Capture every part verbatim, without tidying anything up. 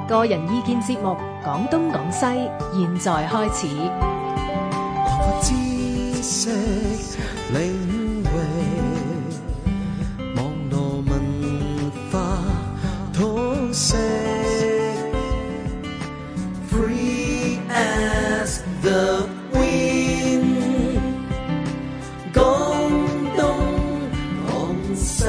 個人意見節目《講東講西》，現在開始。 擴闊知識領域，網絡文化通識 ，Free as the wind， 講東講西。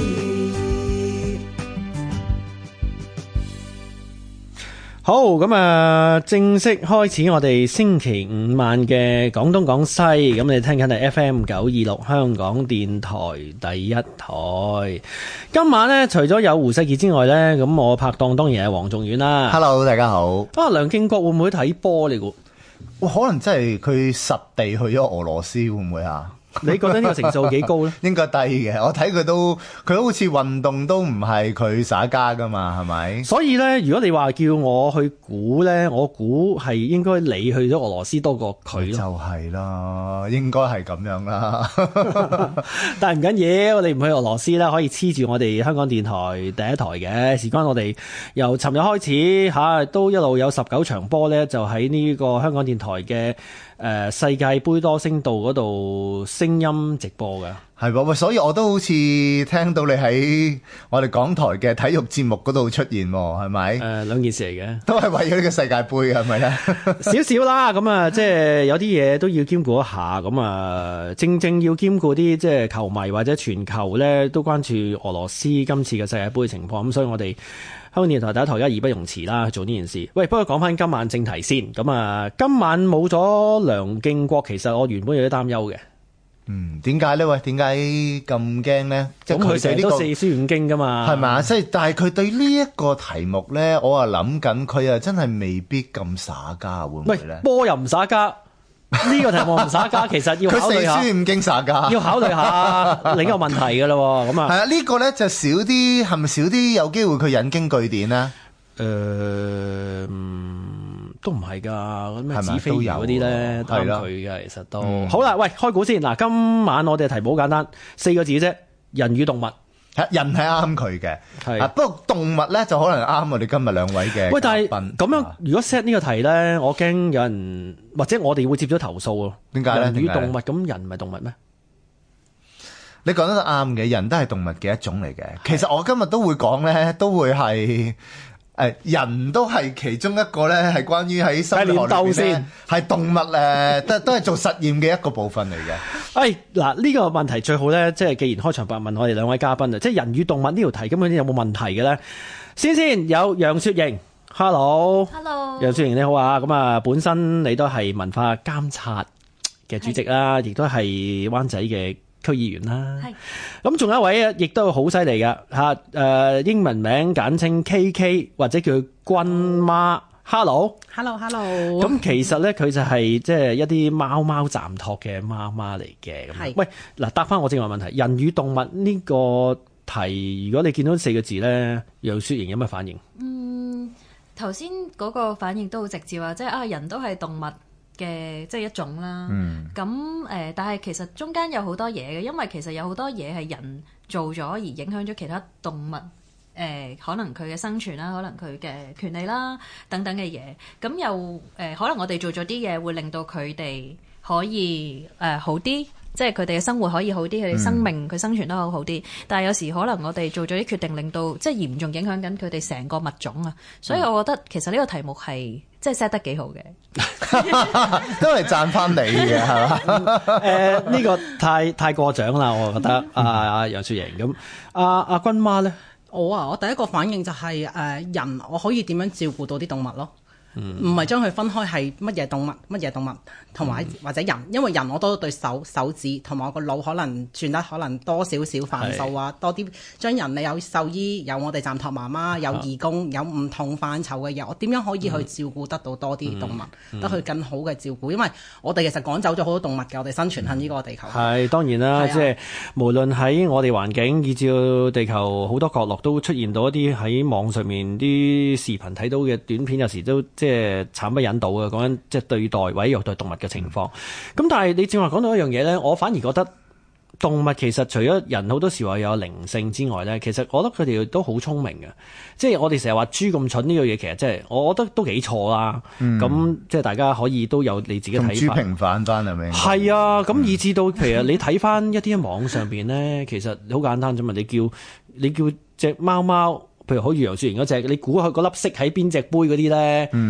好，咁啊，正式開始我哋星期五晚嘅廣東廣西，咁你聽緊係 F M 九二六香港電台第一台。今晚呢，除咗有胡世傑之外呢，咁我拍檔當然係黃仲遠啦。 Hello， 大家好。 啊，梁敬國會唔會睇波你估？ 哇，可能真係佢實地去咗俄羅斯，會唔會啊？ 你覺得呢個成數幾高咧？ 應該低嘅，我睇佢都佢好似運動都唔係佢耍家噶嘛，係咪？ 所以咧，如果你話叫我去估咧，我估係應該你去咗俄羅斯多過佢咯。 就係啦，應該係咁樣啦。 但係唔緊要，我哋唔去俄羅斯啦，可以黐住我哋香港電台第一台嘅。事關我哋由尋日開始嚇，都一路有十九場波咧，就喺呢個香港電台嘅。誒、呃、世界盃多聲道嗰度聲音直播嘅， 係喎，所以我都好似聽到你喺我哋港台嘅體育節目嗰度出現喎，係咪？誒、 呃、兩件事嚟嘅， 都係為咗呢個世界盃係咪咧？ 少少啦，咁啊，即係有啲嘢都要兼顧一下，咁啊，正正要兼顧啲即係球迷或者全球咧都關注俄羅斯今次嘅世界盃情況，咁所以我哋。香港電台第一台而家義不容辭啦，做呢件事。喂，不過講翻今晚正題先。咁啊，今晚冇咗梁敬國，其實我原本有啲擔憂嘅。 嗯，點解咧？喂，點解咁驚咧？ 咁佢成日都四書五經噶嘛， 係嘛？即係，但係佢對呢一個題目咧，我啊諗緊，佢啊真係未必咁耍家，會唔會咧？ 波又唔耍家。呢個題目唔耍家，其實要考慮下。佢四書五經耍家， 要考慮下另一個問題㗎咯。咁啊， 係啊，呢個咧就少啲，係咪少啲有機會佢引經據典咧？誒、 呃，都唔係㗎。咁咩子非魚嗰啲咧，啱佢嘅，其實都、嗯、好啦。喂，開估先嗱，今晚我哋嘅題目好簡單，四個字啫，人與動物。 人係啱佢嘅，係啊，不過動物咧就可能啱我哋今日兩位嘅。 喂，但係咁樣，如果 set 呢個題咧，我驚有人或者我哋會接咗投訴咯。 點解咧？ 人與動物，咁人唔係動物咩？ 你講得啱嘅，人都係動物嘅一種嚟嘅。其實我今日都會講咧，都會係。誒，人都係其中一個咧，係關於喺生物學裏邊咧，係動物誒，都都係做實驗嘅一個部分嚟嘅。 誒，嗱呢個問題最好咧，即係既然開場白問我哋兩位嘉賓啊，即係人與動物呢條題根本有冇問題嘅咧？先先有楊雪瑩 ，Hello，Hello， 楊雪瑩你好啊，咁啊，本身你都係文化監察嘅主席啦，亦都係灣仔嘅區議員啦，咁仲有一位啊，亦都好犀利㗎吓，誒英文名簡稱 K K 或者叫君媽 ，Hello，Hello，Hello， 咁其實咧佢就係即係一啲貓貓暫託嘅媽媽嚟嘅，咁喂嗱答翻我正話問題，人與動物呢個題，如果你見到四個字咧，楊雪瑩有咩反應？ 嗯，頭先嗰個反應都好直接啊，即係啊人都係動物嘅即係一種啦，咁誒、嗯，但係其實中間有好多嘢嘅，因為其實有好多嘢係人做咗而影響咗其他動物，誒、呃，可能佢嘅生存啦，可能佢嘅權利啦等等嘅嘢，咁又誒、呃，可能我哋做咗啲嘢會令到佢哋可以誒、呃、好啲。即係佢哋嘅生活可以好啲，佢哋生命佢、嗯、生存得好好啲。但係有時可能我哋做咗啲決定，令到即係嚴重影響緊佢哋成個物種啊。所以我覺得其實呢個題目係即係 set 得幾好嘅， 都係讚翻你嘅係嘛？ 誒、呃、呢、呢個太太過獎啦，我覺得阿楊雪瑩咁，阿阿君媽咧， 我啊，我第一個反應就係、是、誒、呃、人，我可以點樣照顧到啲動物咯？唔係將佢分開係乜嘢動物，乜嘢動物同埋或者人，因為人我多對手手指同埋我個腦可能轉得可能多少少範數啊，多啲將人你有獸醫，有我哋暫託媽媽，有義工，有唔同範疇嘅嘢，我點樣可以去照顧得到多啲動物，嗯嗯、得去更好嘅照顧？因為我哋其實趕走咗好多動物嘅，我哋生存喺呢個地球。係當然啦，即係、啊、無論喺我哋環境，以至到地球好多角落都出現到一啲喺網上面啲視頻睇到嘅短片，有時都。即係慘不忍睹嘅，講緊即係對待或者虐待動物嘅情況。咁但係你正話講到一樣嘢咧，我反而覺得動物其實除咗人好多時話有靈性之外咧，其實我覺得佢哋都好聰明嘅。即係我哋成日話豬咁蠢呢個嘢，其實即係我覺得都幾錯啦。咁、嗯、即係大家可以都有你自己睇法。同豬平反翻係咪？ 係啊，咁、嗯、以至到其實你睇翻一啲網上邊咧，其實好簡單啫嘛。你叫你叫隻貓貓，譬如好似楊雪瑩嗰隻，你估佢嗰粒色喺邊隻杯嗰啲咧？嗯